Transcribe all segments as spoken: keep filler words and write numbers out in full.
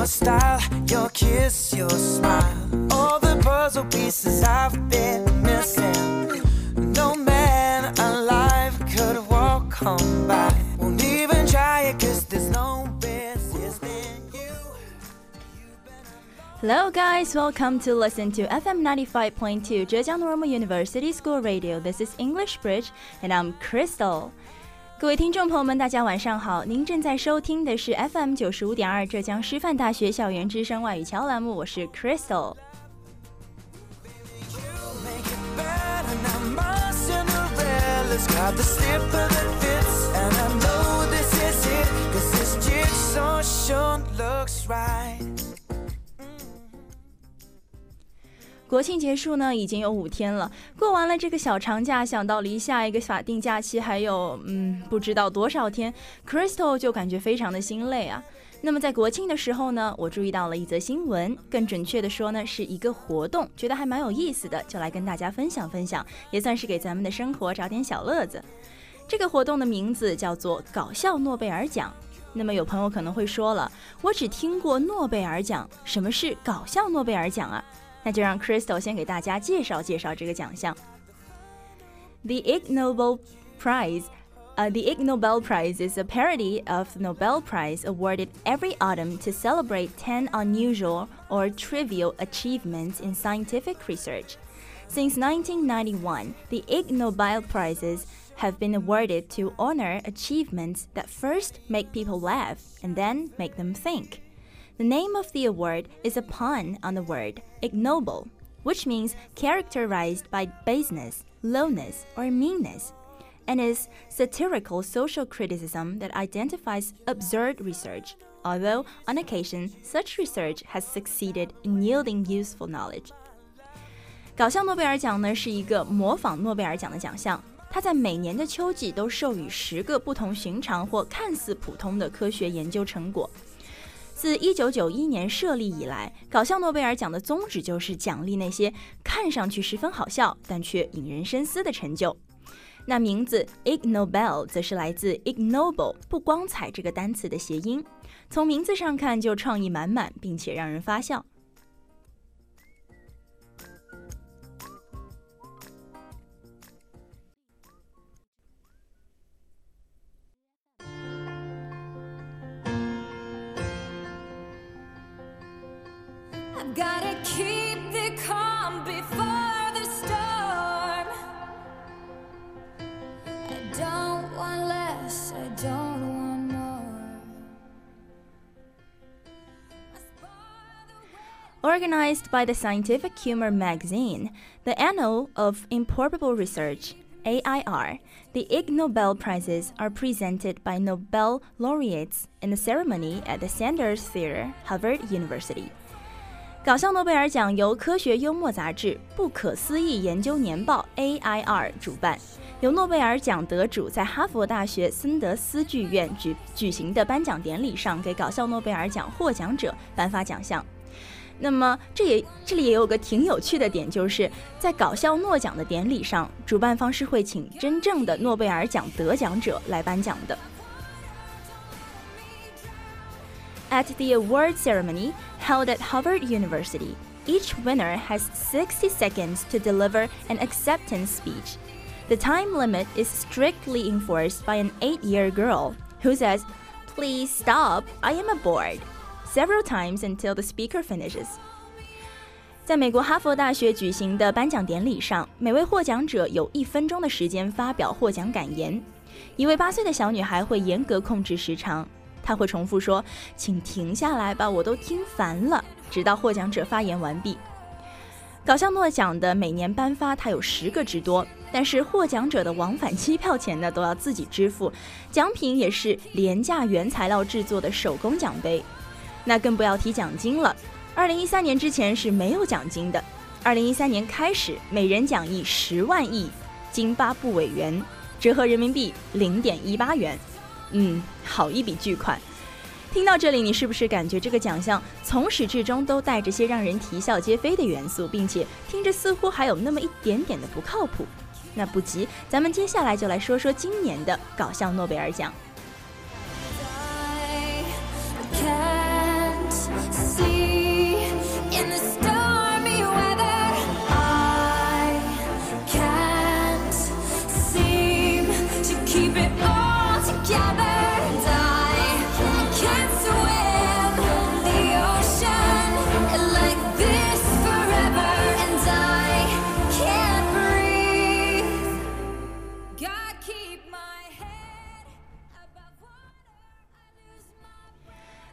style, your kiss, your smile, all the puzzle pieces I've been missing. No man alive could walk on by. Won't even try it cause there's no resisting you. Hello guys, welcome to listen to F M ninety-five point two Zhejiang Normal University School Radio. This is English Bridge and I'm Crystal. 各位听众朋友们大家晚上好，您正在收听的是 F M 九十五点二 浙江师范大学校园之声外语桥栏目，我是 Crystal。国庆结束呢，已经有五天了。过完了这个小长假，想到离下一个法定假期还有嗯不知道多少天 ，Crystal 就感觉非常的心累啊。那么在国庆的时候呢，我注意到了一则新闻，更准确的说呢，是一个活动，觉得还蛮有意思的，就来跟大家分享分享，也算是给咱们的生活找点小乐子。这个活动的名字叫做搞笑诺贝尔奖。那么有朋友可能会说了，我只听过诺贝尔奖，什么是搞笑诺贝尔奖啊？那就让 Crystal 先给大家介绍介绍这个奖项。The Ig Nobel Prize, uh, the Ig Nobel Prize is a parody of the Nobel Prize awarded every autumn to celebrate ten unusual or trivial achievements in scientific research. Since nineteen ninety-one, the Ig Nobel Prizes have been awarded to honor achievements that first make people laugh and then make them think.The name of the award is a pun on the word ignoble, which means characterized by baseness, lowness, or meanness, and is satirical social criticism that identifies absurd research, although on occasion such research has succeeded in yielding useful knowledge. 搞笑诺贝尔奖呢是一个模仿诺贝尔奖的奖项，它在每年的秋季都授予十个不同寻常或看似普通的科学研究成果。自一九九一年设立以来，搞笑诺贝尔奖的宗旨就是奖励那些看上去十分好笑但却引人深思的成就。那名字 Ig Nobel 则是来自 ignoble 不光彩这个单词的谐音，从名字上看就创意满满，并且让人发笑。 Gotta keep the calm before the storm. I don't want less, I don't want more. Organized by the Scientific Humor magazine, the Annal of Improbable Research, A I R, the Ig Nobel Prizes are presented by Nobel laureates in a ceremony at the Sanders Theater, Harvard University.搞笑诺贝尔奖由科学幽默杂志《不可思议研究年报》A I R 主办，由诺贝尔奖得主在哈佛大学森德斯剧院 举, 举行的颁奖典礼上给搞笑诺贝尔奖获奖者颁发奖项。那么这也这里也有个挺有趣的点，就是在搞笑诺奖的典礼上，主办方是会请真正的诺贝尔奖得奖者来颁奖的。At the award ceremony held at Harvard University, each winner has sixty seconds to deliver an acceptance speech. The time limit is strictly enforced by an eight-year girl who says, "Please stop, I am bored," several times until the speaker finishes. 在美国哈佛大学举行的颁奖典礼上，每位获奖者有一分钟的时间发表获奖感言。一位八岁的小女孩会严格控制时长。他会重复说，请停下来吧，我都听烦了，直到获奖者发言完毕。搞笑诺奖的每年颁发它有十个之多，但是获奖者的往返机票钱呢都要自己支付，奖品也是廉价原材料制作的手工奖杯。那更不要提奖金了，二零一三年之前是没有奖金的，二零一三年开始每人奖励十万亿津巴布韦元，折合人民币零点一八元。嗯，好一笔巨款。听到这里，你是不是感觉这个奖项从始至终都带着些让人啼笑皆非的元素，并且听着似乎还有那么一点点的不靠谱？那不急，咱们接下来就来说说今年的搞笑诺贝尔奖。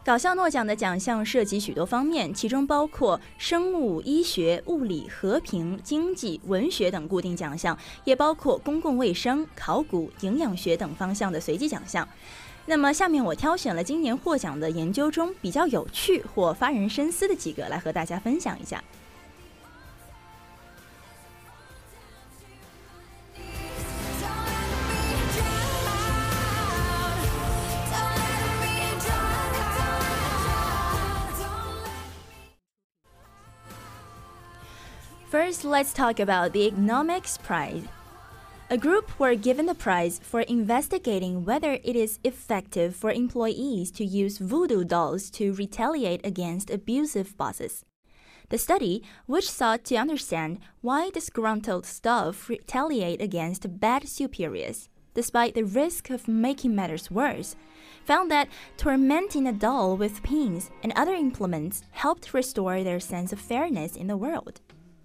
搞笑诺奖的奖项涉及许多方面，其中包括生物、医学、物理、和平、经济、文学等固定奖项，也包括公共卫生、考古、营养学等方向的随机奖项。那么下面我挑选了今年获奖的研究中比较有趣或发人深思的几个来和大家分享一下。First, let's talk about the Economics Prize. A group were given the prize for investigating whether it is effective for employees to use voodoo dolls to retaliate against abusive bosses. The study, which sought to understand why disgruntled staff retaliate against bad superiors, despite the risk of making matters worse, found that tormenting a doll with pins and other implements helped restore their sense of fairness in the world.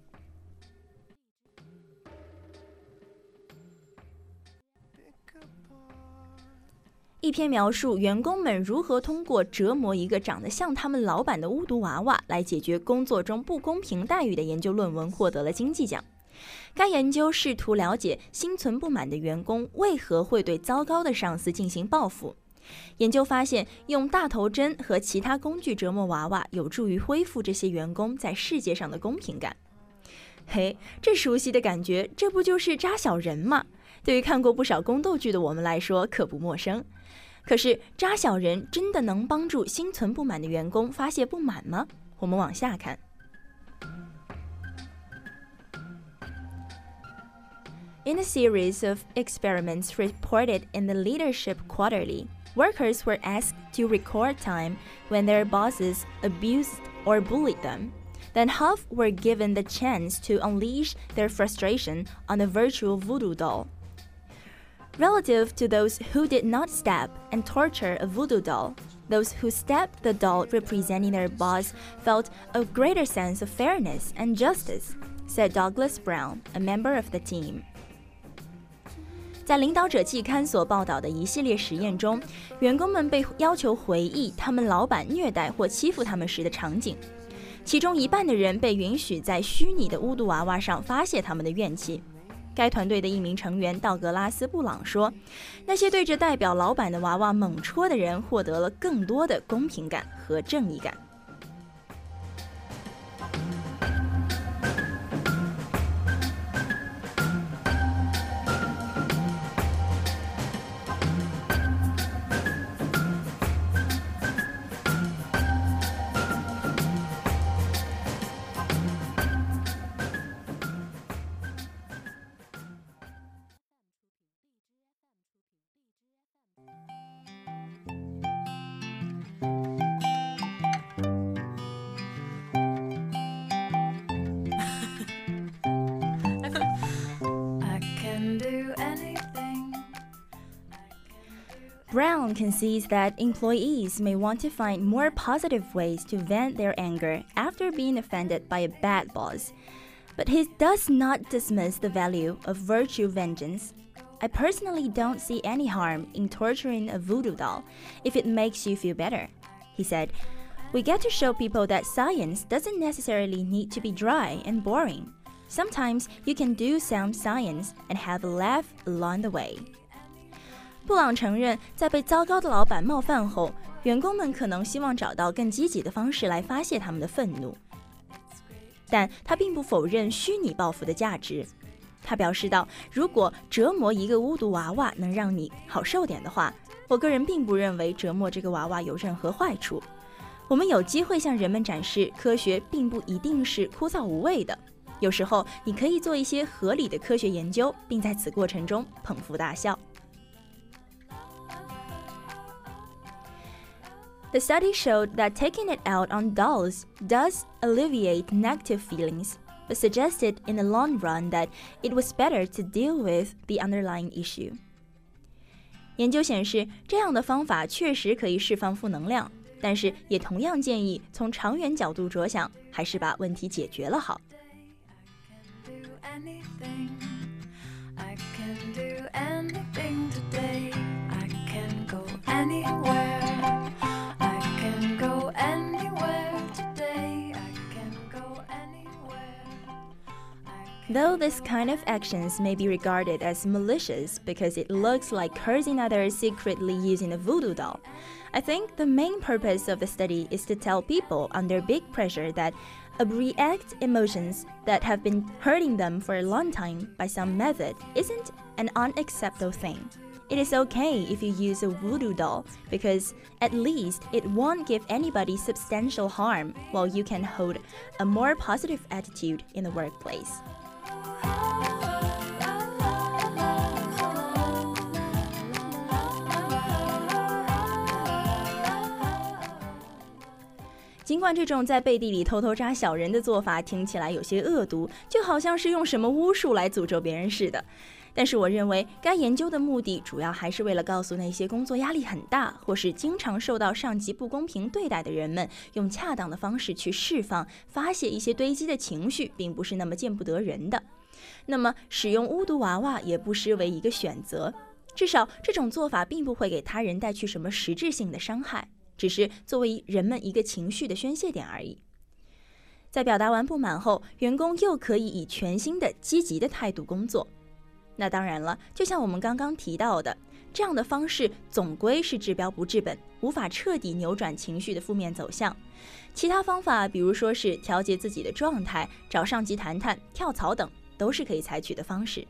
一篇描述员工们如何通过折磨一个长得像他们老板的巫毒娃娃来解决工作中不公平待遇的研究论文获得了经济奖。该研究试图了解心存不满的员工为何会对糟糕的上司进行报复。研究发现，用大头针和其他工具折磨娃娃有助于恢复这些员工在世界上的公平感。嘿，这熟悉的感觉，这不就是扎小人吗？对于看过不少宫斗剧的我们来说可不陌生。可是扎小人真的能帮助心存不满的员工发泄不满吗？我们往下看。In a series of experiments reported in the Leadership Quarterly, workers were asked to record time when their bosses abused or bullied them. Then half were given the chance to unleash their frustration on a virtual voodoo doll. Relative to those who did not stab and torture a voodoo doll, those who stabbed the doll representing their boss felt a greater sense of fairness and justice, said Douglas Brown, a member of the team. 在领导者季刊所报道的一系列实验中，员工们被要求回忆他们老板虐待或欺负他们时的场景。其中一半的人被允许在虚拟的巫毒娃娃上发泄他们的怨气。该团队的一名成员道格拉斯·布朗说，那些对着代表老板的娃娃猛戳的人获得了更多的公平感和正义感。Brown concedes that employees may want to find more positive ways to vent their anger after being offended by a bad boss, but he does not dismiss the value of virtue vengeance. I personally don't see any harm in torturing a voodoo doll if it makes you feel better, he said. We get to show people that science doesn't necessarily need to be dry and boring. Sometimes you can do sound science and have a laugh along the way. 布朗承认，在被糟糕的老板冒犯后，员工们可能希望找到更积极的方式来发泄他们的愤怒。但他并不否认虚拟报复的价值。他表示道，如果折磨一个巫毒娃娃能让你好受点的话，我个人并不认为折磨这个娃娃有任何坏处。我们有机会向人们展示，科学并不一定是枯燥无味的。有时候，你可以做一些合理的科学研究，并在此过程中捧腹大笑。The study showed that taking it out on dolls does alleviate negative feelings, but suggested in the long run that it was better to deal with the underlying issue. 研究显示，这样的方法确实可以释放负能量，但是也同样建议从长远角度着想，还是把问题解决了好。Anywhere I can Though this kind of actions may be regarded as malicious because it looks like cursing others secretly using a voodoo doll, I think the main purpose of the study is to tell people under big pressure that react emotions that have been hurting them for a long time by some method isn't an unacceptable thing. It is okay if you use a voodoo doll because at least it won't give anybody substantial harm while you can hold a more positive attitude in the workplace. 尽管这种在背地里偷偷扎小人的做法听起来有些恶毒，就好像是用什么巫术来诅咒别人似的，但是我认为该研究的目的主要还是为了告诉那些工作压力很大或是经常受到上级不公平对待的人们，用恰当的方式去释放发泄一些堆积的情绪并不是那么见不得人的。那么使用巫毒娃娃也不失为一个选择，至少这种做法并不会给他人带去什么实质性的伤害，只是作为人们一个情绪的宣泄点而已。在表达完不满后，员工又可以以全新的积极的态度工作。那当然了，就像我们刚刚提到的，这样的方式总归是治标不治本，无法彻底扭转情绪的负面走向。其他方法，比如说是调节自己的状态、找上级谈谈、跳槽等，都是可以采取的方式。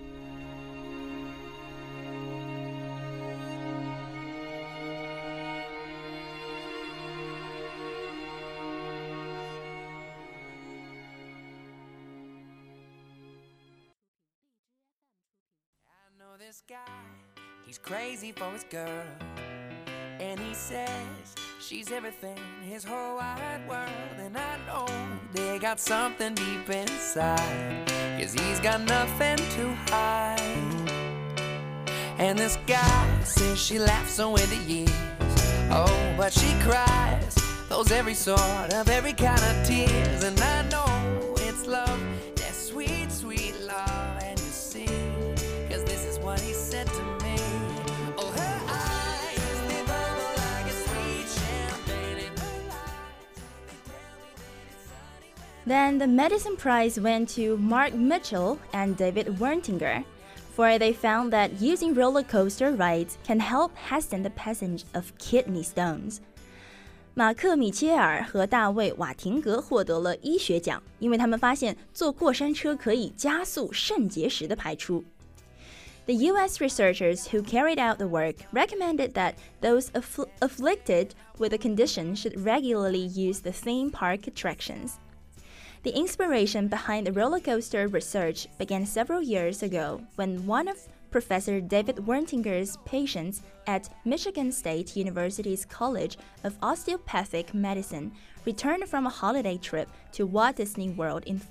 This guy, he's crazy for his girl, and he says she's everything in his whole wide world. And I know they got something deep inside, 'cause he's got nothing to hide. And this guy says she laughs away the years, oh, but she cries those every sort of every kind of tears. And I know it's love, that sweet, sweet love. And you see, what he said to me, oh, her eyes, they bubble like a sweet champagne in her life. They tell me that it's sunny when Then the medicine prize went to Mark Mitchell and David Wertinger, for they found that using roller coaster rides can help hasten the passage of kidney stones. 马克·米切尔和大卫·瓦廷格获得了医学奖，因为他们发现坐过山车可以加速肾结石的排出。The U S researchers who carried out the work recommended that those affl- afflicted with the condition should regularly use the theme park attractions. The inspiration behind the roller coaster research began several years ago when one of Professor David Wertinger's patients at Michigan State University's College of Osteopathic Medicine returned from a holiday trip to Walt Disney World in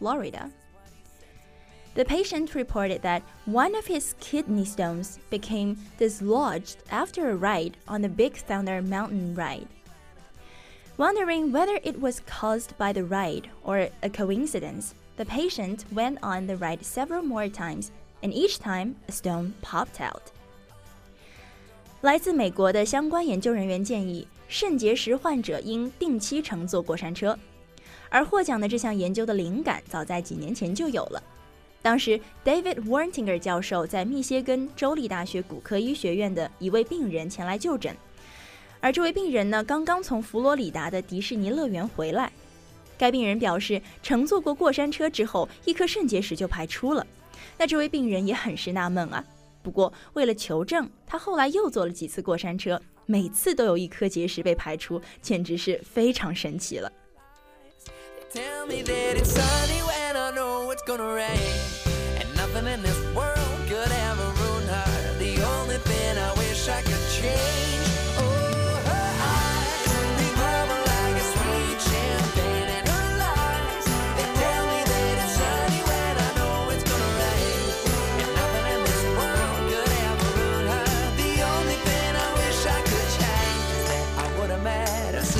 Florida.The patient reported that one of his kidney stones became dislodged after a ride on the Big Thunder Mountain ride. Wondering whether it was caused by the ride or a coincidence, the patient went on the ride several more times, and each time a stone popped out. 来自美国的相关研究人员建议，肾结石患者应定期乘坐过山车，而获奖的这项研究的灵感早在几年前就有了。当时 David Wertinger 教授在密歇根州立大学骨科医学院的一位病人前来就诊，而这位病人呢，刚刚从佛罗里达的迪士尼乐园回来。该病人表示，乘坐过过山车之后，一颗肾结石就排出了。那这位病人也很是纳闷啊。不过为了求证，他后来又坐了几次过山车，每次都有一颗结石被排出，简直是非常神奇了。 Tell me that it's sunny when I know it's gonna rain, and nothing in this world could ever ruin her. The only thing I wish I could change, oh, her eyes, they bubble like a sweet champagne, and her lies, they tell me that it's sunny when I know it's gonna rain, and nothing in this world could ever ruin her. The only thing I wish I could change is that I would have met her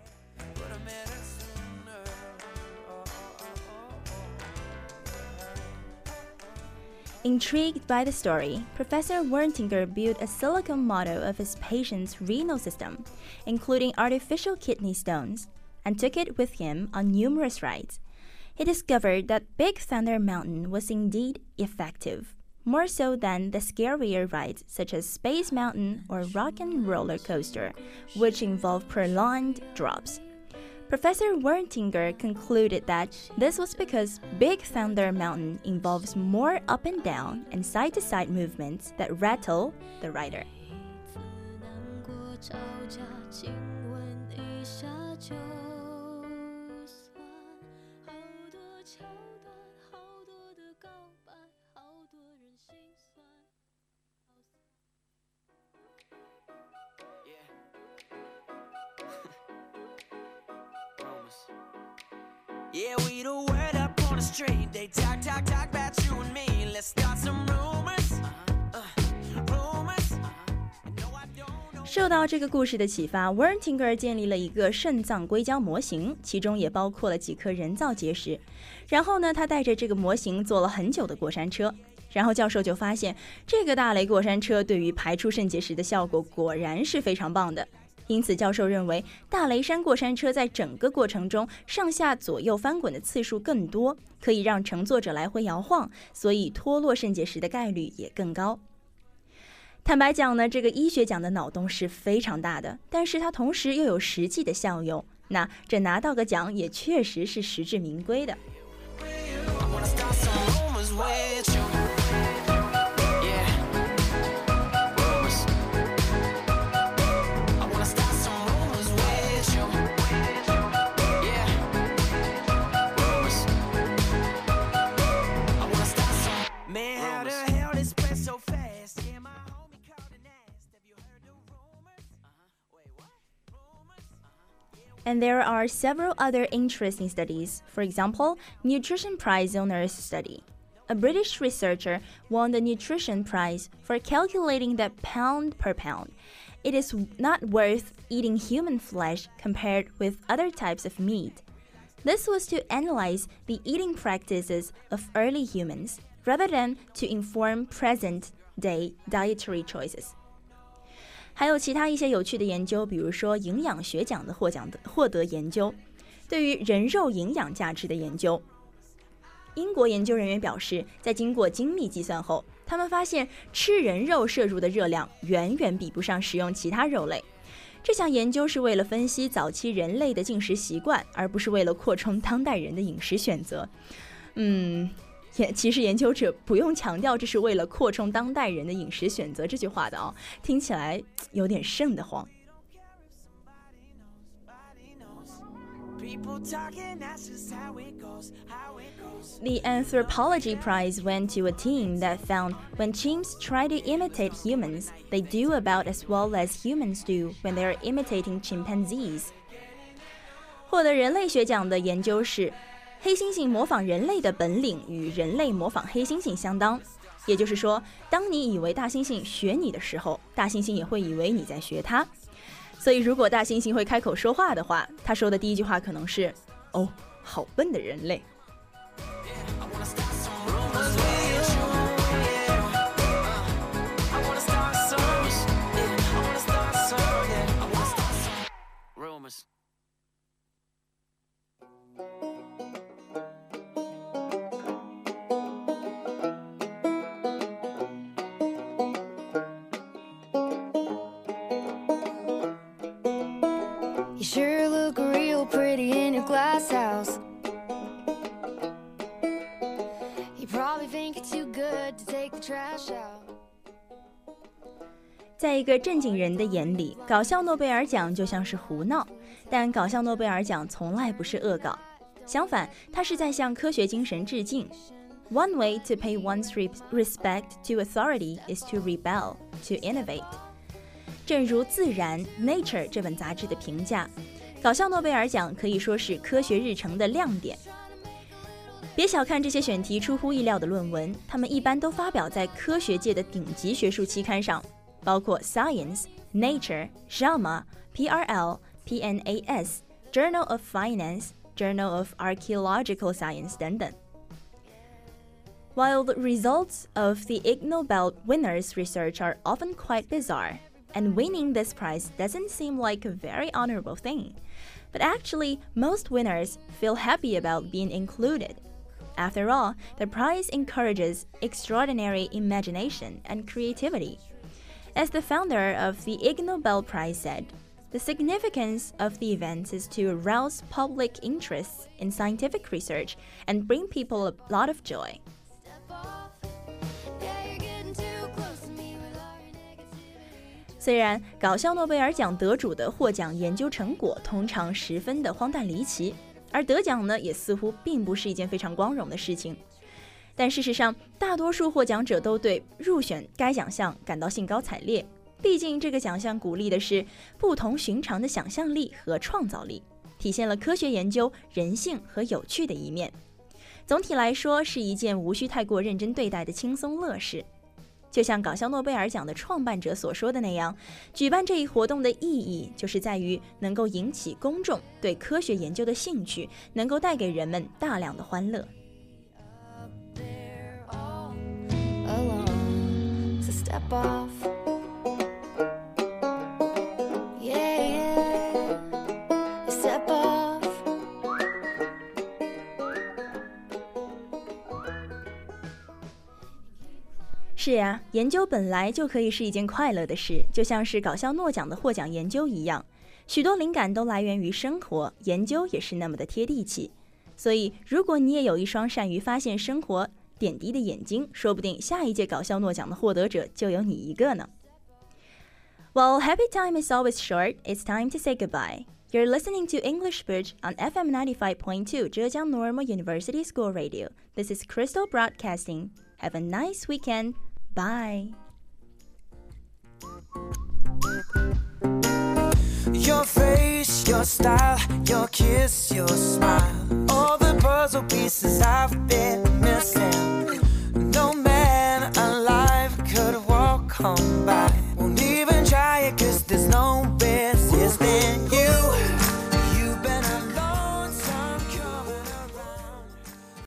sooner.Yeah, Intrigued by the story, Professor Wertinger built a silicone model of his patient's renal system, including artificial kidney stones, and took it with him on numerous rides. He discovered that Big Thunder Mountain was indeed effective, more so than the scarier rides such as Space Mountain or Rock and Roller Coaster, which involve prolonged drops. Professor Wertinger concluded that this was because Big Thunder Mountain involves more up and down and side-to-side movements that rattle the rider. Yeah, we the word up on the street. They talk, talk, talk about you and me. Let's start some rumors. Rumors. 受到这个故事的启发 Wertinger 建立了一个肾脏硅胶模型，其中也包括了几颗人造结石。然后呢，他带着这个模型坐了很久的过山车。然后教授就发现，这个大雷过山车对于排出肾结石的效果果然是非常棒的。因此教授认为大雷山过山车在整个过程中上下左右翻滚的次数更多，可以让乘坐者来回摇晃，所以脱落肾结石的概率也更高。坦白讲呢，这个医学奖的脑洞是非常大的，但是它同时又有实际的效用，那这拿到个奖也确实是实至名归的。And there are several other interesting studies. For example, Nutrition Prize Owners Study. A British researcher won the Nutrition Prize for calculating that pound per pound, it is not worth eating human flesh compared with other types of meat. This was to analyze the eating practices of early humans, rather than to inform present-day dietary choices. 还有其他一些有趣的研究，比如说营养学奖的获奖的获得研究，对于人肉营养价值的研究。英国研究人员表示，在经过精密计算后，他们发现吃人肉摄入的热量远远比不上食用其他肉类。这项研究是为了分析早期人类的进食习惯，而不是为了扩充当代人的饮食选择。嗯。其实研究者不用强调这是为了扩充当代人的饮食选择这句话的哦，听起来有点瘆得慌。The Anthropology Prize went to a team that found when chimps try to imitate humans, they do about as well as humans do when they are imitating chimpanzees. 获得人类学奖的研究是黑猩猩模仿人类的本领与人类模仿黑猩猩相当，也就是说，当你以为大猩猩学你的时候，大猩猩也会以为你在学它。所以如果大猩猩会开口说话的话，他说的第一句话可能是哦，好笨的人类。 You sure look real pretty in your glass house. You probably think it's too good to take the trash out. 在一个正经人的眼里，搞笑诺贝尔奖就像是胡闹，但搞笑诺贝尔奖从来不是恶搞，相反，它是在向科学精神致敬。One way to pay one's respect to authority is to rebel, to innovate. 正如《自然》Nature 这本杂志的评价，搞笑诺贝尔奖可以说是科学日程的亮点。别小看这些选题出乎意料的论文，他们一般都发表在科学界的顶级学术期刊上，包括 Science、Nature、JAMA、P R L、P N A S、Journal of Finance、Journal of Archaeological Science 等等。 While the results of the Ig Nobel winners' research are often quite bizarre, and winning this prize doesn't seem like a very honorable thing, but actually, most winners feel happy about being included. After all, the prize encourages extraordinary imagination and creativity. As the founder of the Ig Nobel Prize said, the significance of the event is to arouse public interest in scientific research and bring people a lot of joy. 虽然搞笑诺贝尔奖得主的获奖研究成果通常十分的荒诞离奇，而得奖呢也似乎并不是一件非常光荣的事情，但事实上大多数获奖者都对入选该奖项感到兴高采烈，毕竟这个奖项鼓励的是不同寻常的想象力和创造力，体现了科学研究人性和有趣的一面。总体来说是一件无需太过认真对待的轻松乐事。就像搞笑诺贝尔奖的创办者所说的那样，举办这一活动的意义就是在于能够引起公众对科学研究的兴趣，能够带给人们大量的欢乐。是呀，研究本来就可以是一件快乐的事，就像是搞笑诺奖的获奖研究一样，许多灵感都来源于生活，研究也是那么的贴地气。所以如果你也有一双善于发现生活点滴的眼睛，说不定下一届搞笑诺奖的获得者就有你一个呢。While happy time is always short, it's time to say goodbye. You're listening to English Bridge on F M ninety-five point two Zhejiang Normal University School Radio. This is Crystal Broadcasting. Have a nice weekend. Bye. Your face, your style, your kiss, your smile, all the puzzle pieces I've been